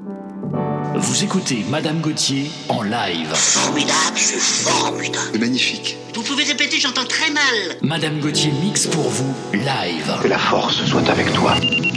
Vous écoutez Madame Gauthier en live. Formidable, c'est formidable. C'est magnifique. Vous pouvez répéter, j'entends très mal. Madame Gauthier mixe pour vous live. Que la force soit avec toi.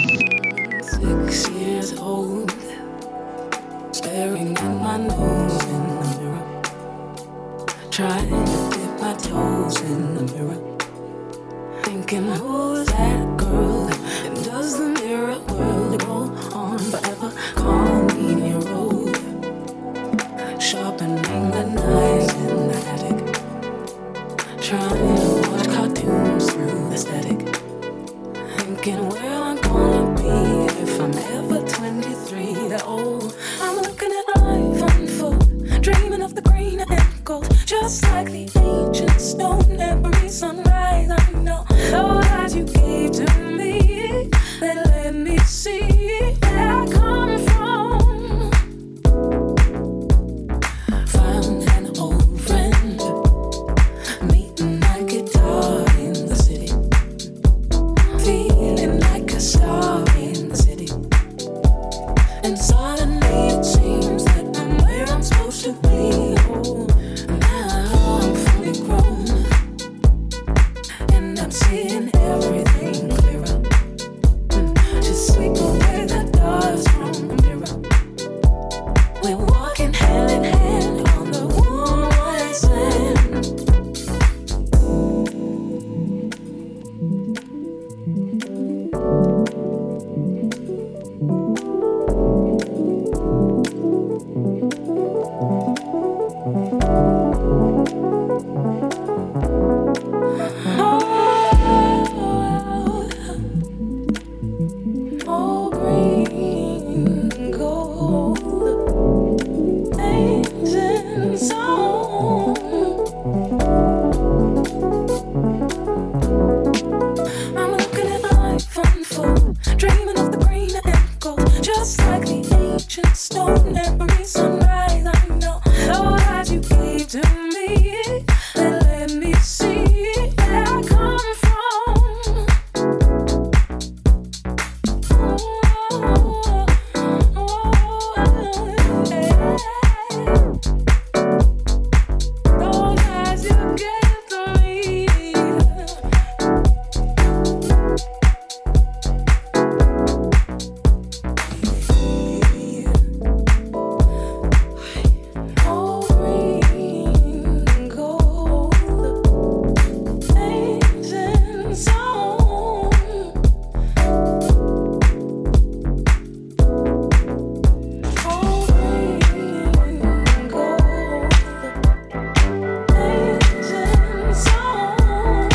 6 years old, staring at my nose in the mirror, trying to dip my toes in the mirror, thinking who's that girl, and does the mirror world go on forever? Call me your road, sharpening the knives in the attic, trying to watch cartoons through the static, thinking where I'm gonna be if I'm ever 23 that old. I'm looking at life unfold, dreaming of the green and gold, just like the ancient stone. Every sunrise I know the eyes you gave to me, they let me see where I come from. Found an old friend, meeting my guitar in the city, feeling like a star in the city. And suddenly it seems that I'm where I'm supposed to be. Oh, now I'm fully grown, and I'm seeing everything clearer. Just sweep away the dust from the mirror. We're walking hand in hand on the warm white sand. Oh, green gold, ancient song. I'm looking at life unfold, dreaming of the green and gold, just like the ancient stone. Every sunrise I know the eyes you gave to me, they let me see where I come from. Those eyes you gave to me. Oh, green gold, ancient song. Oh, green gold, ancient song.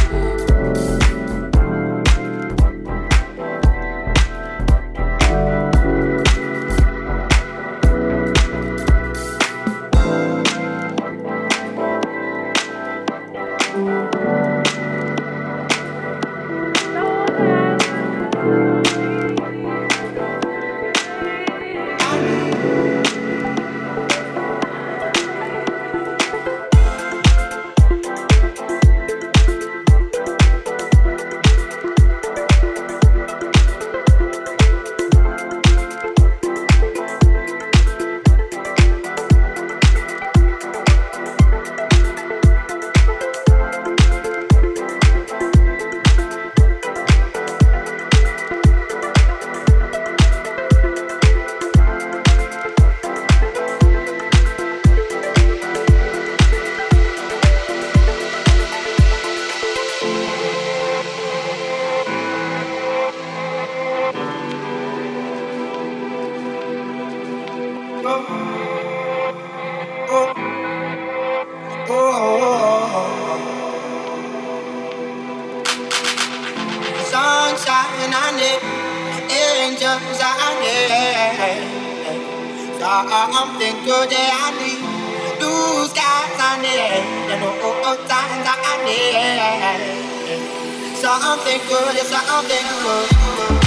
Sunshine I need, angels I need, something good I need, blue skies I need, and old times I need, something good, something good.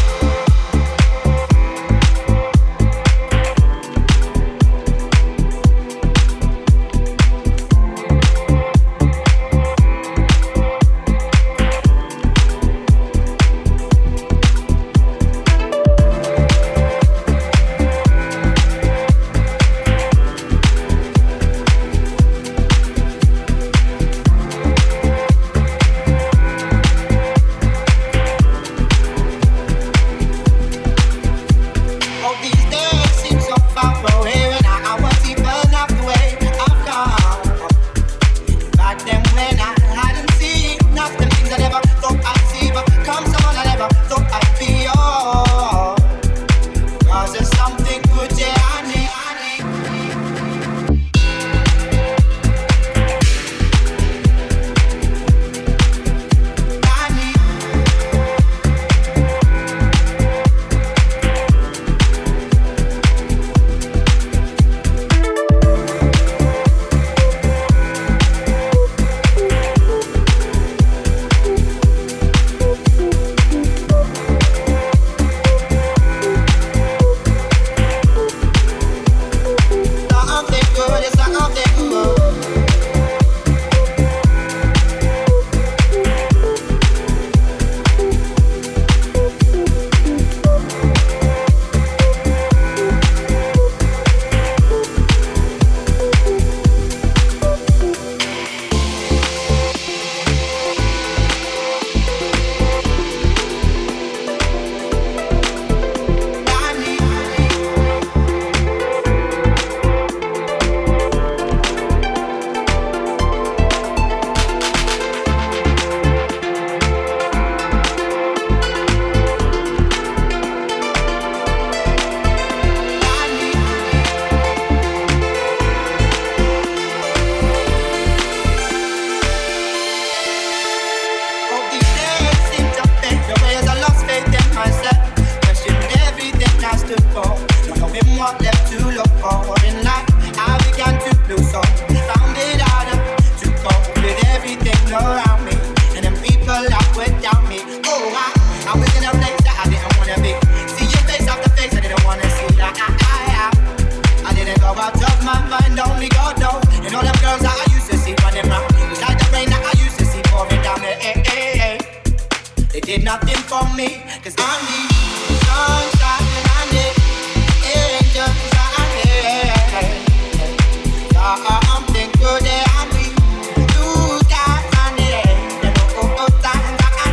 did nothing for me, 'cause I need sunshine and I need angels, I need something good that I need blue skies, I need times I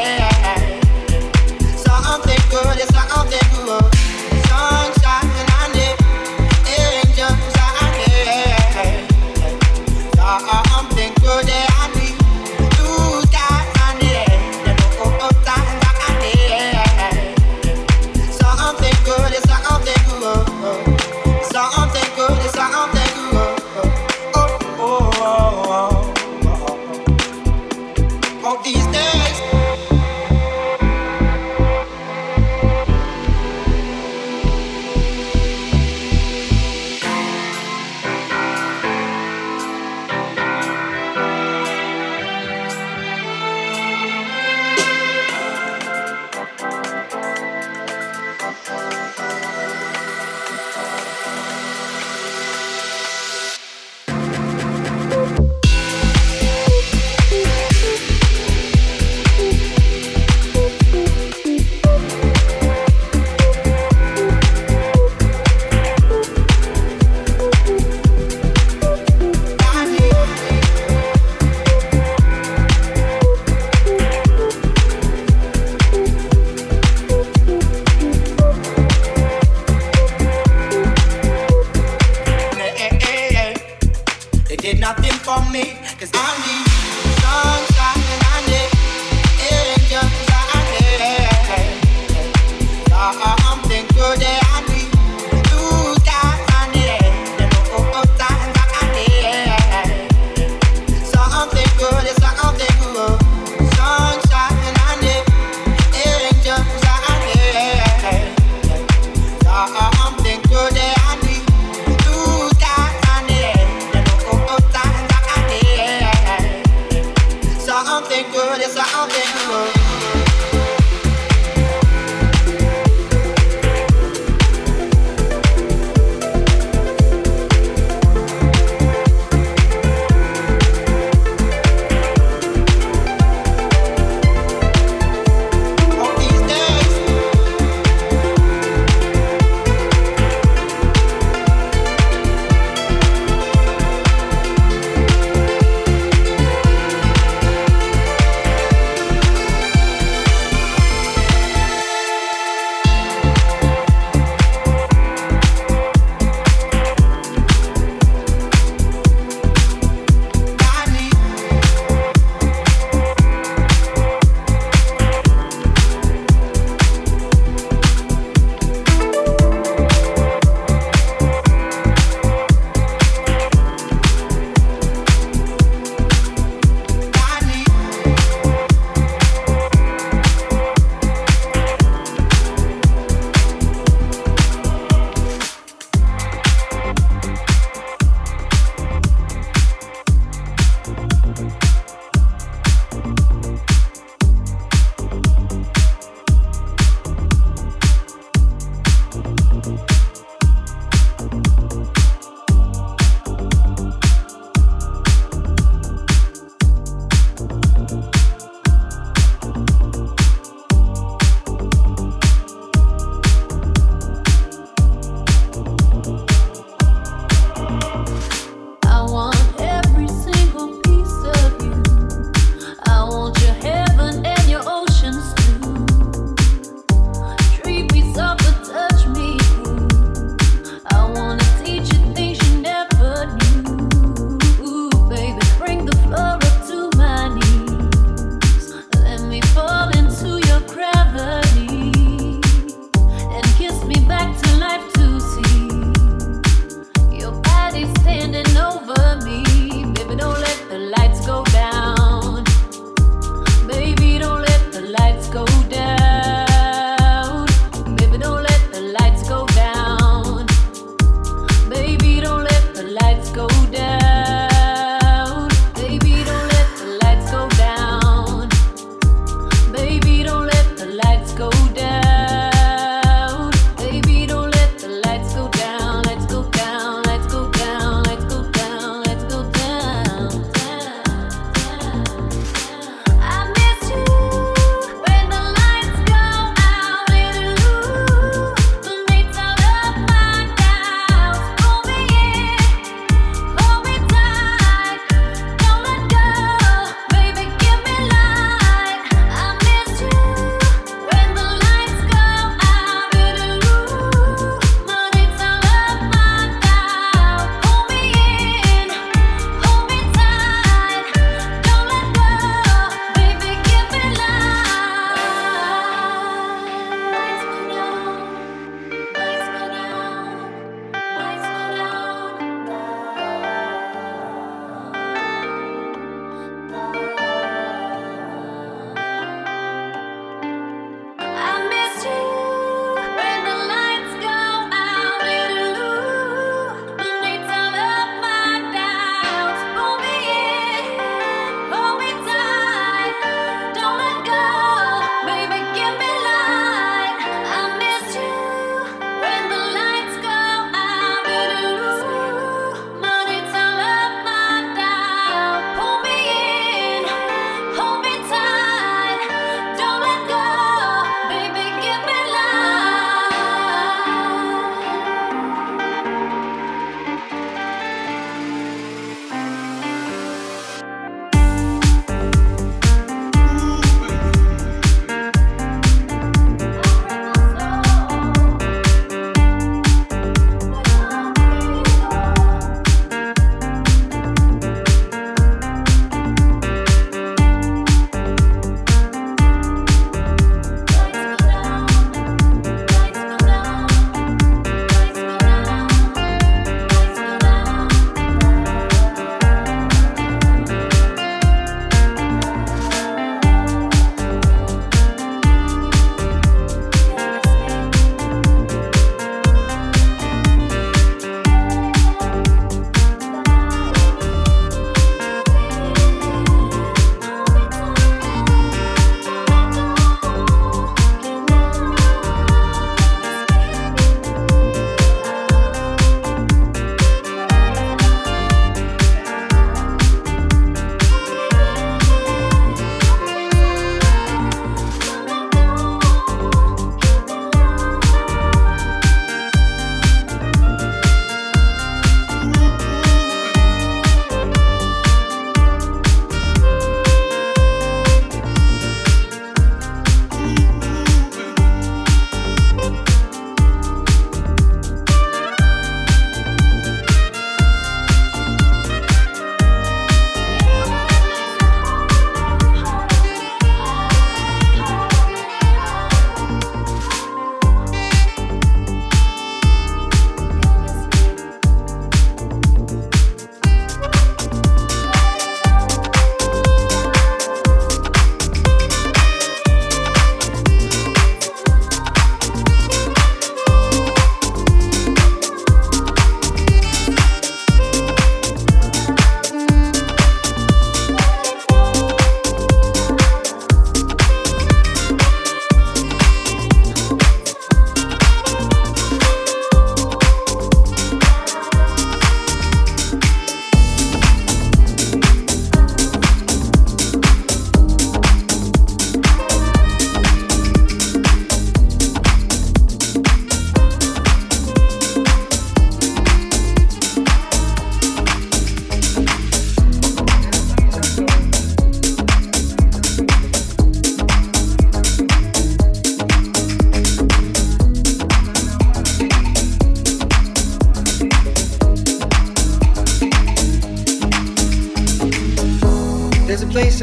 need something good, something good, sunshine and I need angels, I need something good that I need blue skies, I need times I need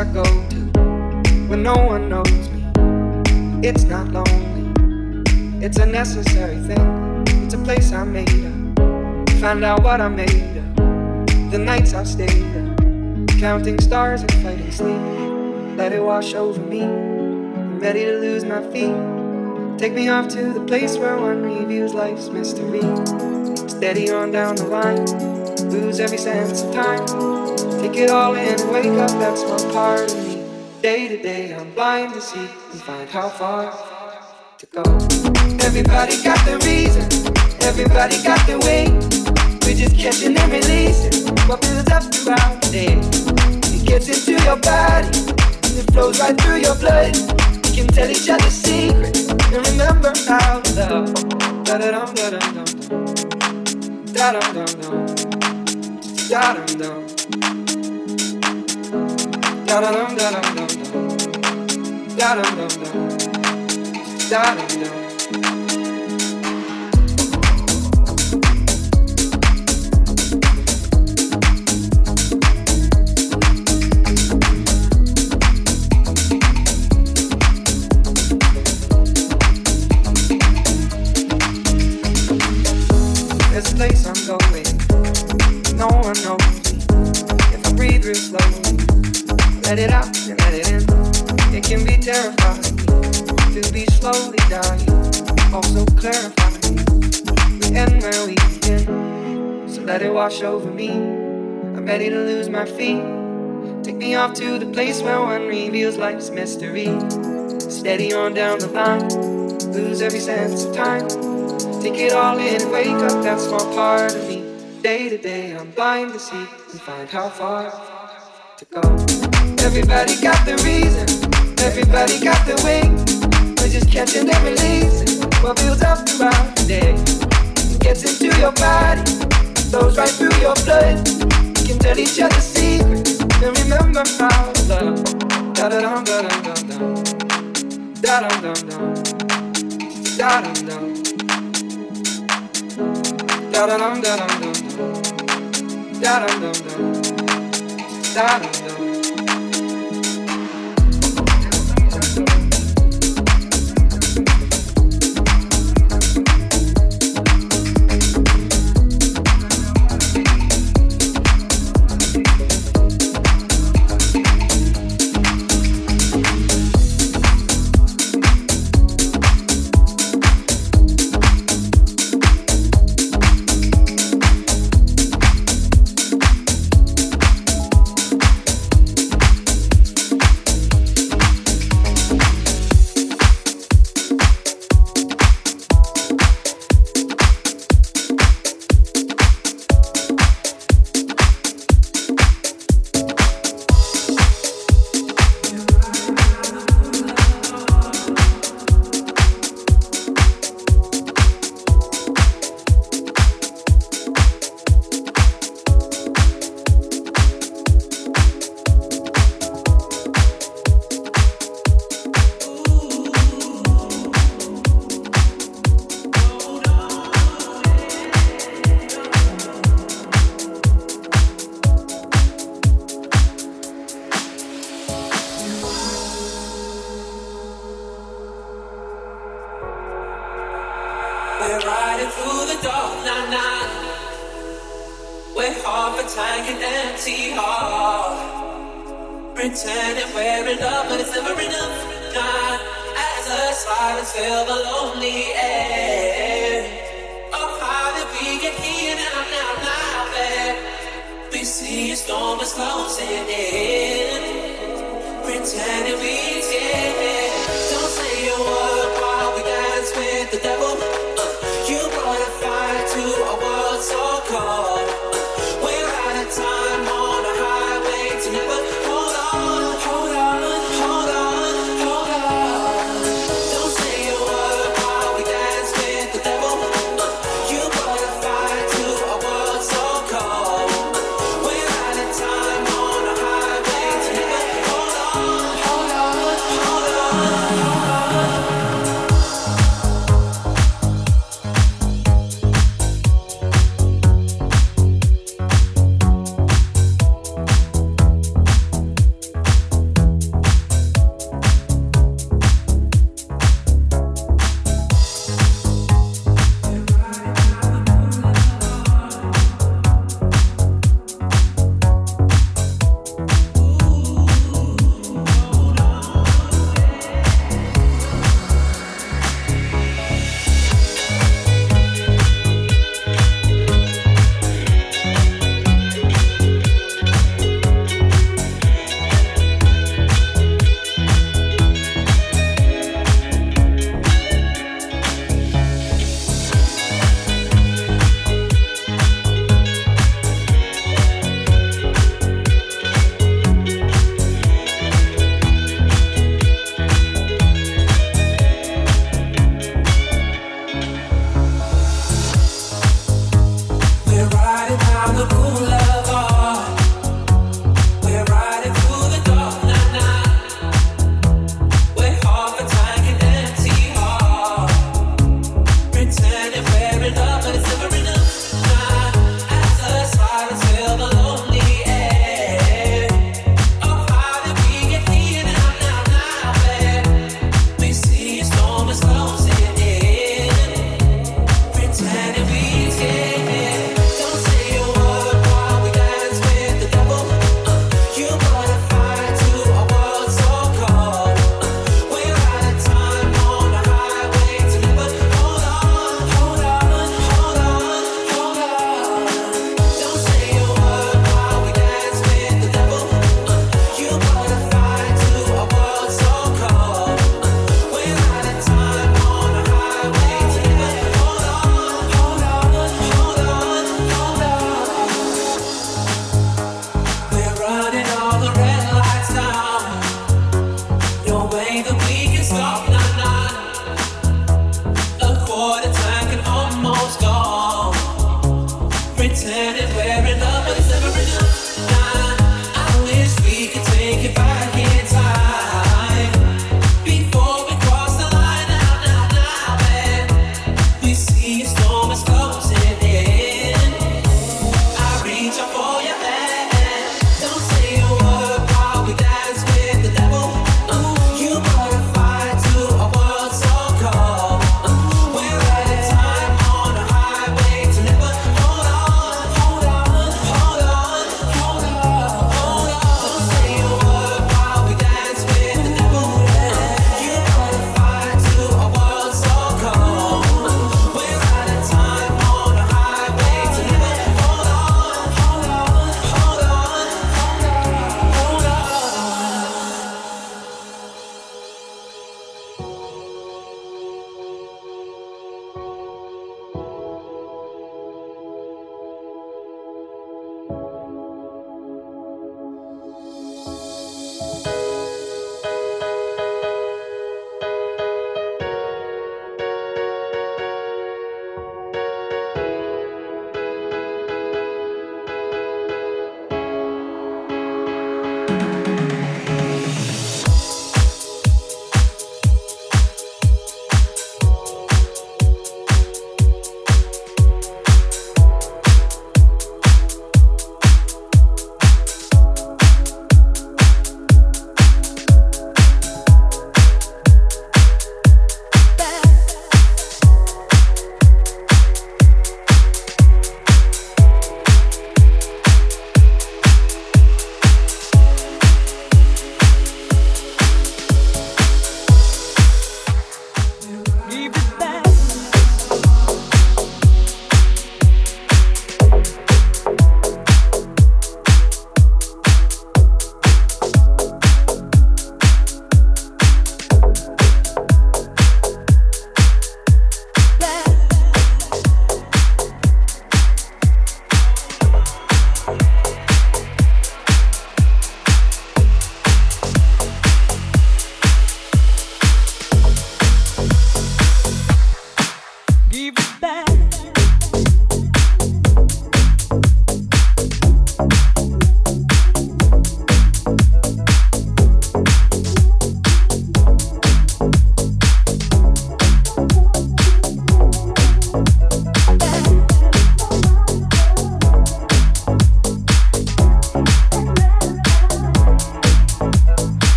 I go to when no one knows me. It's not lonely, it's a necessary thing. It's a place I made up, find out what I made of. The nights I've stayed up, counting stars and fighting sleep. Let it wash over me, I'm ready to lose my feet. Take me off to the place where one reviews life's mystery. Steady on down the line, lose every sense of time. Take it all in and wake up, that's one part of me. Day to day I'm blind to see and find how far to go. Everybody got the reason, everybody got the way. We're just catching and releasing what builds up throughout the day. It gets into your body and it flows right through your blood. We can tell each other secrets and remember how to love. Da-da-dum, da-dum-dum, da-dum-dum-dum, da-dum-dum, da-dum-dum, da-dum-dum, da-dum-dum, da-dum-dum. There's a place I'm going, no one knows me. If I breathe real slowly, let it out and let it in. It can be terrifying to be slowly dying, also clarifying. We end where we begin, so let it wash over me. I'm ready to lose my feet. Take me off to the place where one reveals life's mystery. Steady on down the line, lose every sense of time. Take it all in and wake up that small part of me. Day to day I'm blind to see and find how far to go. Everybody got the reason, everybody got the way. We're just catching and releasing what builds up throughout the day. It gets into your body, flows right through your blood. We can tell each other secrets and remember how to love. Da-da-dum, da-dum-dum-dum, da-dum-dum-dum, da-dum-dum. Da-dum-dum, da-dum-dum, da-dum-dum, da-dum-dum.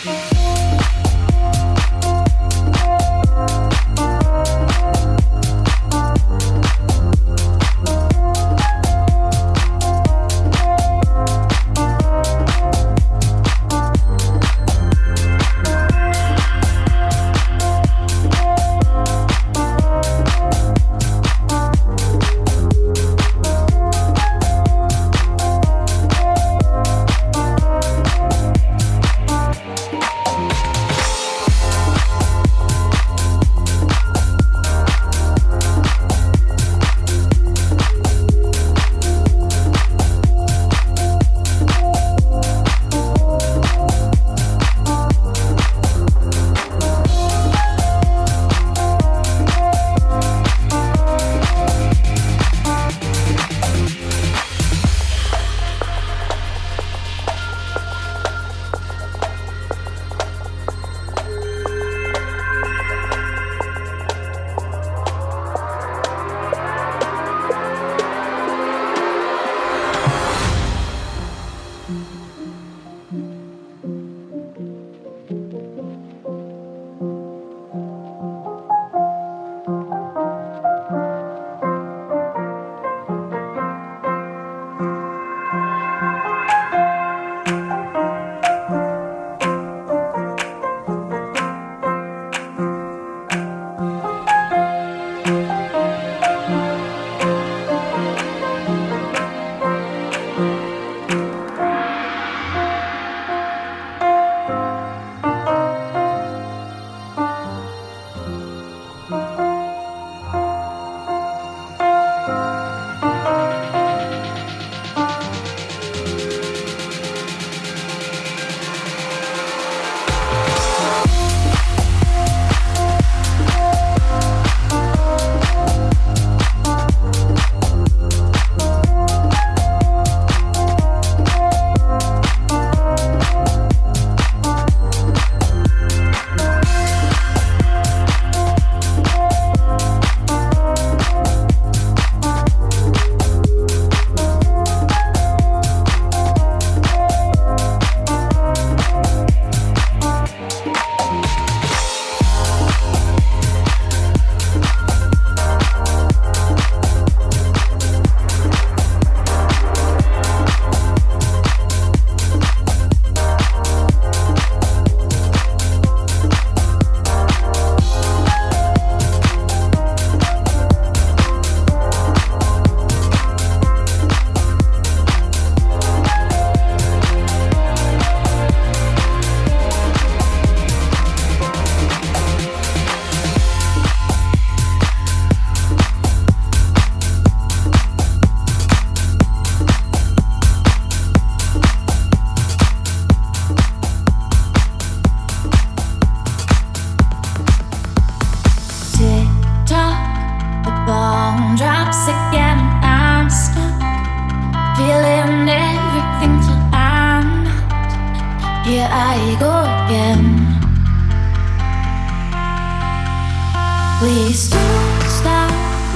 Please don't stop,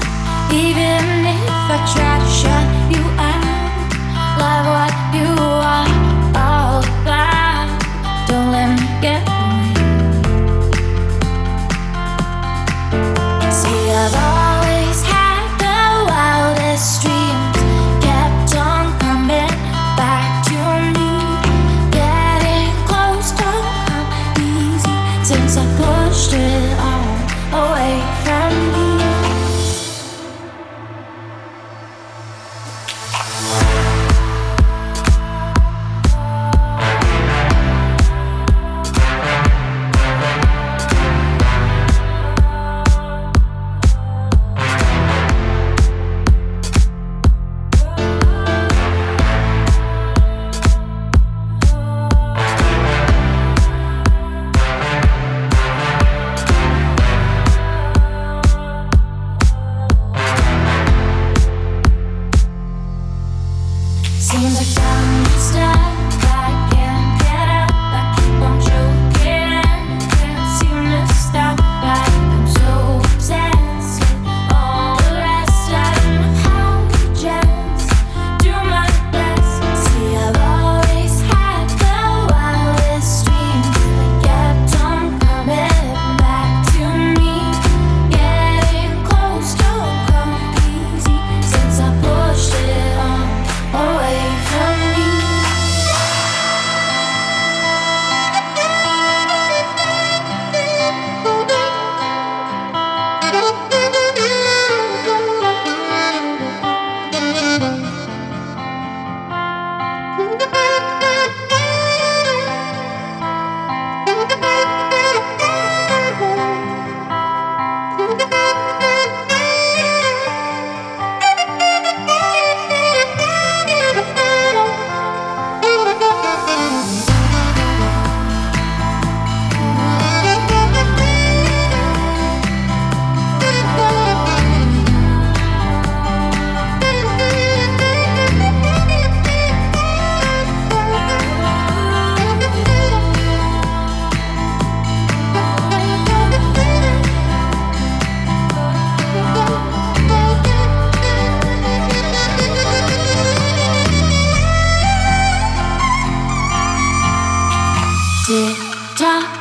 even if I try to shut you out. Love what you are all about. Don't let me get away. See, I've always had the wildest dreams, kept on coming back to me. Getting close don't come easy since I pushed it all away from me. talk.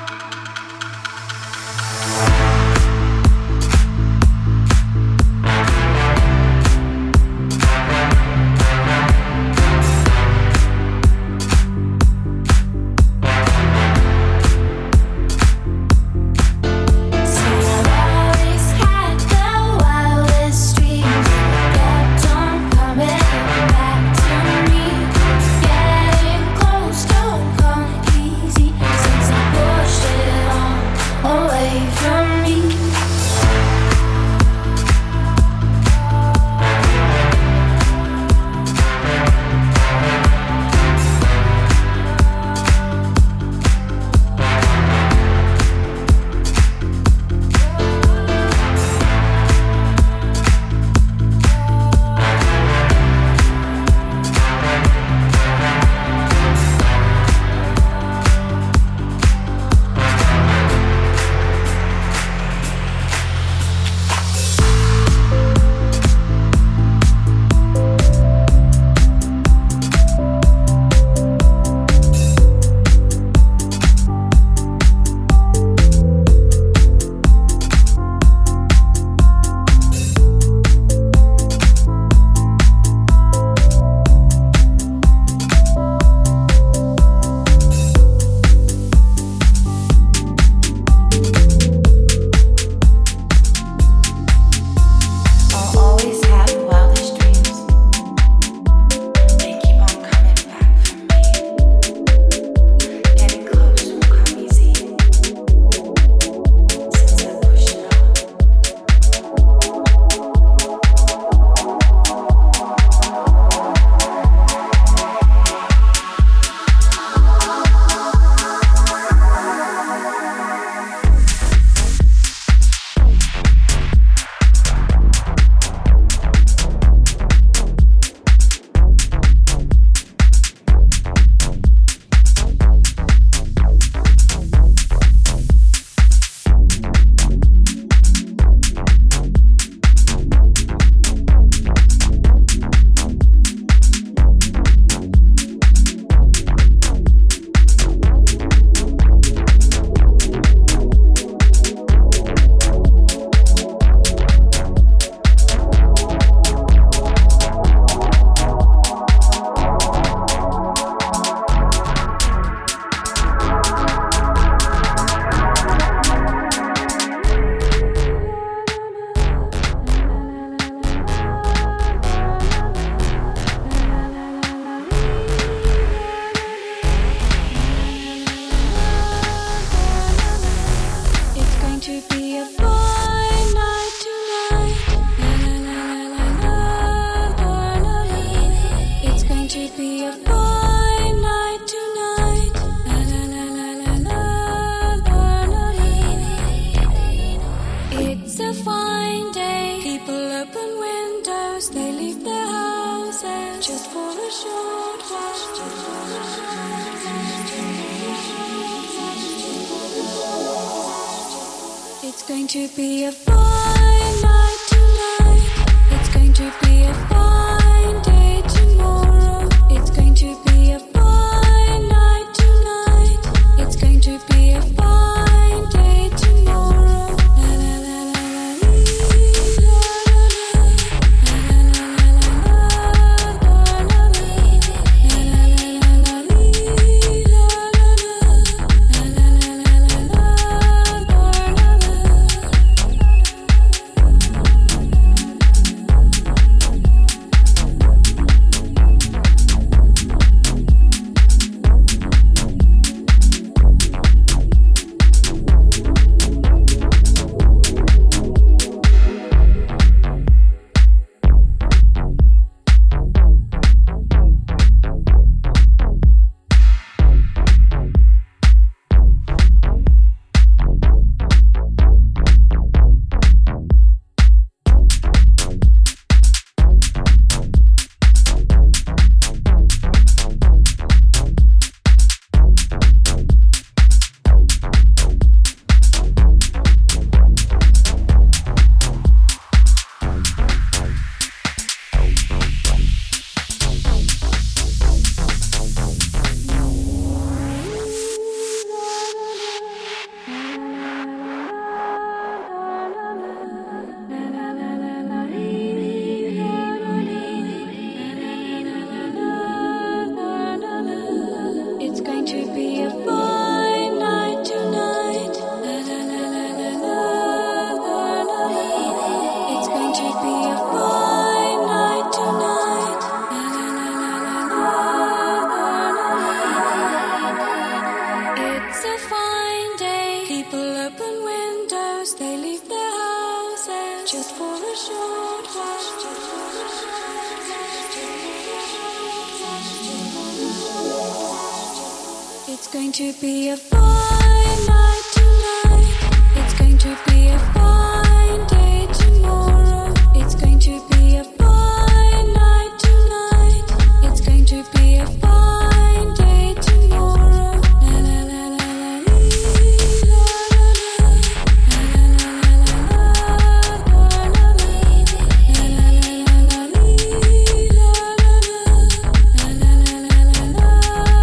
It's going to be a fine night tonight. It's going to be a fine day tomorrow. It's going to be a fine night tonight. It's going to be a fine day tomorrow. La la la la la dreamers, they leave their houses just for a short while. It's going to be a fine night tonight. It's going to be a fine day tomorrow. It's going to be a fine night tonight. It's going to be a fine day tomorrow. La la la la la lee, la la la la la la la la la la la lee, la la la la lee, la la la la la la.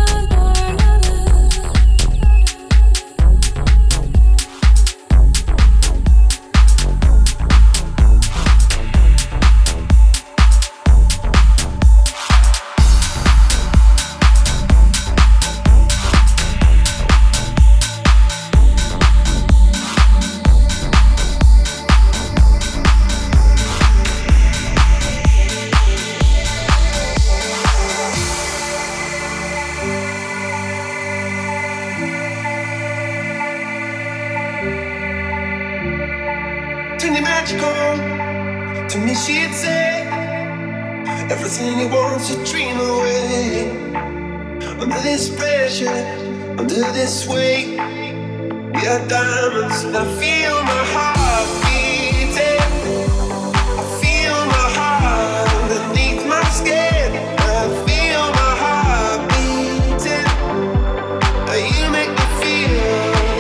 To me she'd say everything you want to dream away. Under this pressure, under this weight, we are diamonds and I feel my heart beating. I feel my heart underneath my skin. I feel my heart beating. You make me feel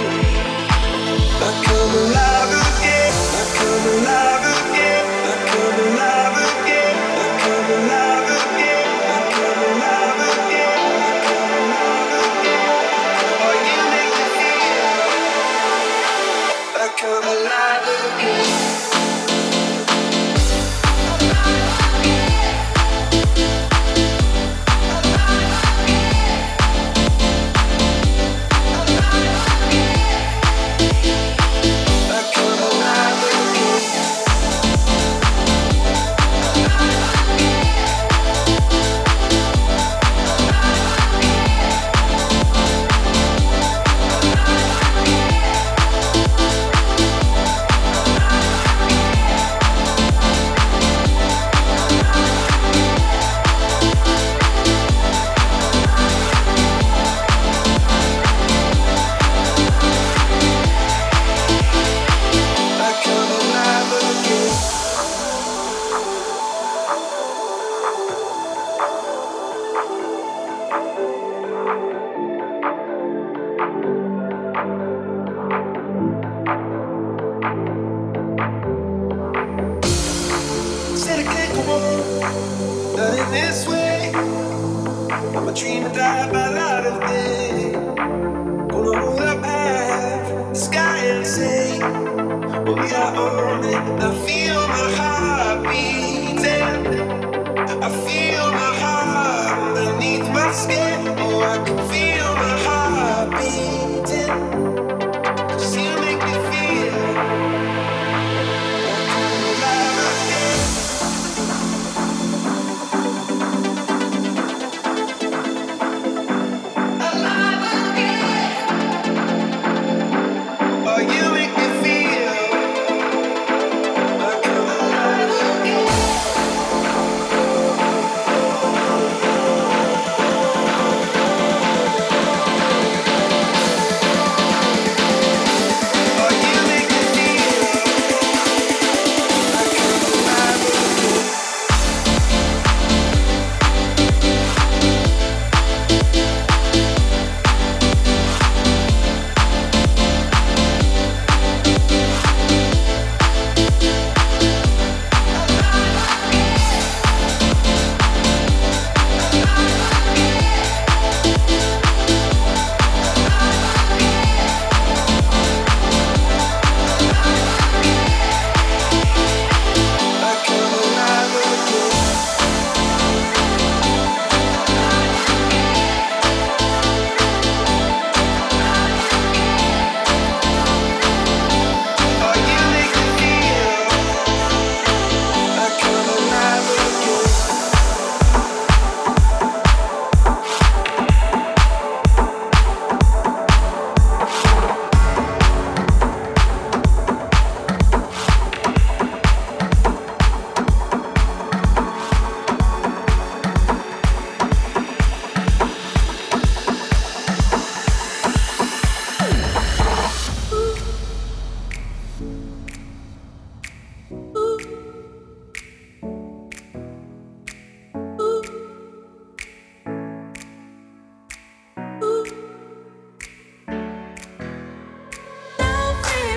like I'm alive again. Like I'm alive again. Like I'm alive again. Like I'm alive again. Like I'm alive again. Like I'm alive again. Oh, you make me feel like I'm alive again.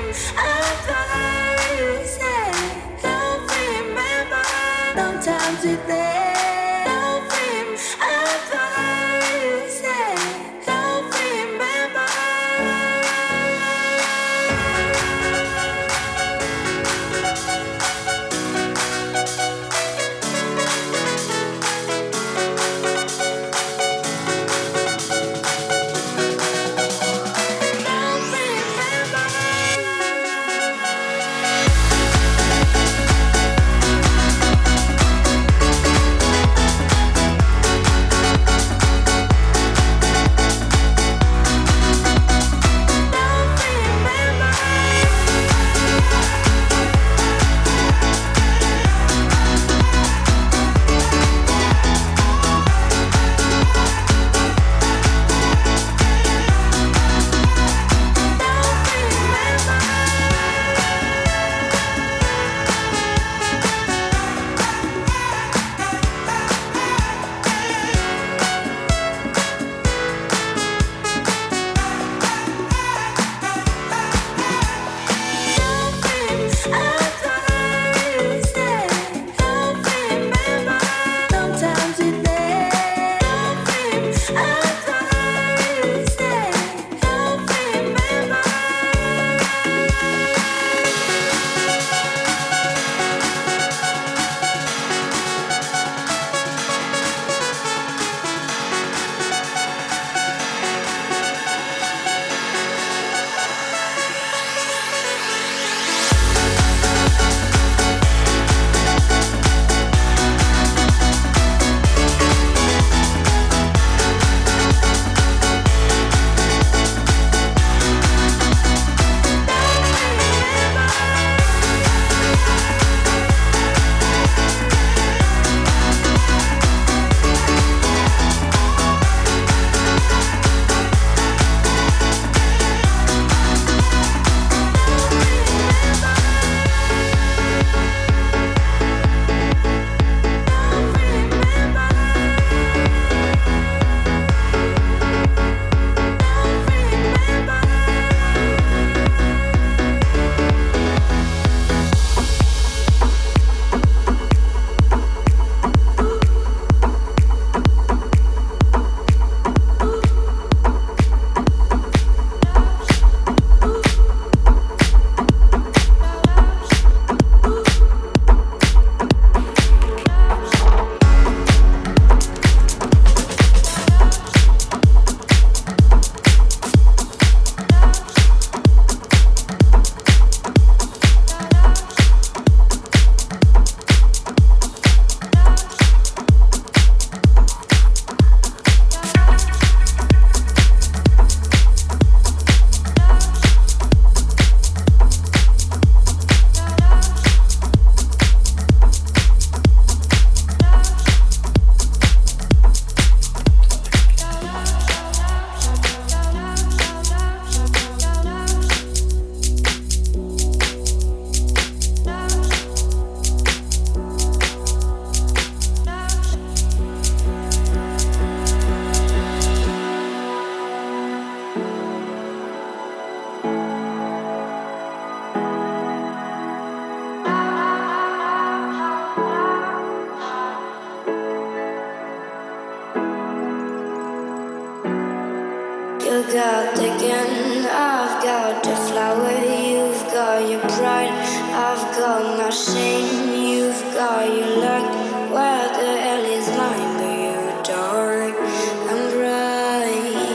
got the gun, I've got the flower, you've got your pride, I've got my shame, you've got your luck. Where the hell is mine? But you're dark and bright.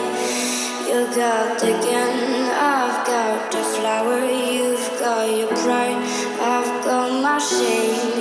You got the gun, I've got the flower, you've got your pride, I've got my shame.